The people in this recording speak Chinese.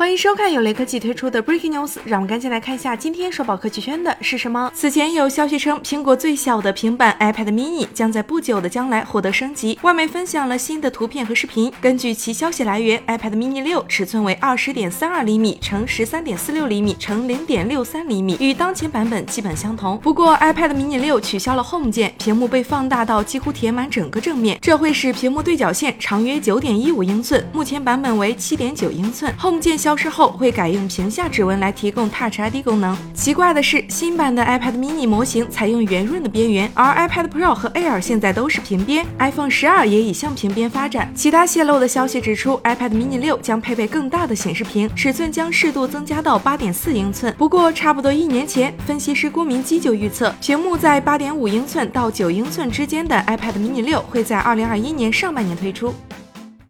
欢迎收看由雷科技推出的 Breaking News， 让我们赶紧来看一下今天刷爆科技圈的是什么。此前有消息称，苹果最小的平板 iPad mini 将在不久的将来获得升级，外媒分享了新的图片和视频。根据其消息来源 ，iPad mini 6尺寸为 20.32 厘米乘 13.46 厘米乘 0.63 厘米，与当前版本基本相同。不过 iPad mini 6取消了 Home 键，屏幕被放大到几乎填满整个正面，这会使屏幕对角线长约 9.15 英寸，目前版本为 7.9 英寸。Home 键消失后会改用屏下指纹来提供 Touch ID 功能。奇怪的是，新版的 iPad mini 模型采用圆润的边缘，而 iPad Pro 和 Air 现在都是平边， iPhone 12也已向平边发展。其他泄露的消息指出 ，iPad mini 6将配备更大的显示屏，尺寸将适度增加到 8.4 英寸。不过，差不多1年前，分析师郭明基就预测，屏幕在 8.5 英寸到9英寸之间的 iPad mini 6会在2021年上半年推出。